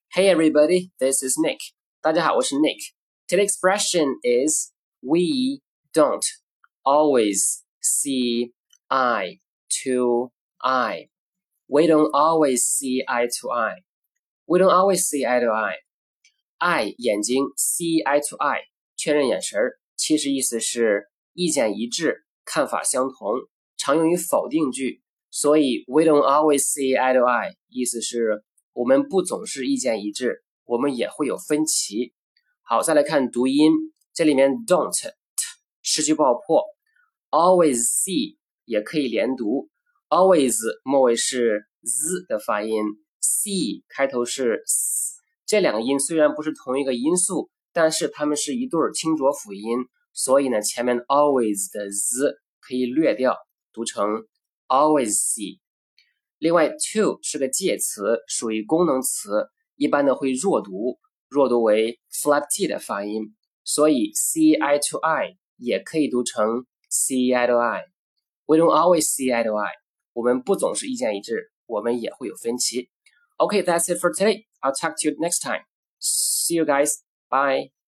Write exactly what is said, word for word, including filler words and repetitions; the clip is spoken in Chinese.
Hey everybody, this is Nick. 大家好，我是 Nick. Today's expression is we don't always see eye to eye. We don't always see eye to eye. We don't always see eye to eye. Eye 眼睛 see eye to eye 确认眼神，其实意思是意见一致，看法相同，常用于否定句。所以 we don't always see eye to eye 意思是我们不总是意见一致，我们也会有分歧。好，再来看读音，这里面 don't t 失去爆破 always see 也可以连读 always 末尾是 z 的发音 see 开头是 s， 这两个音虽然不是同一个音素，但是它们是一对清浊辅音，所以呢前面 always 的 z 可以略掉，读成 always see。另外 to 是个介词，属于功能词，一般呢会弱读，弱读为 flap t 的发音，所以 see eye to eye 也可以读成 see eye to eye。 We don't always see eye to eye， 我们不总是意见一致，我们也会有分歧。Okay, that's it for today. I'll talk to you next time. See you guys. Bye.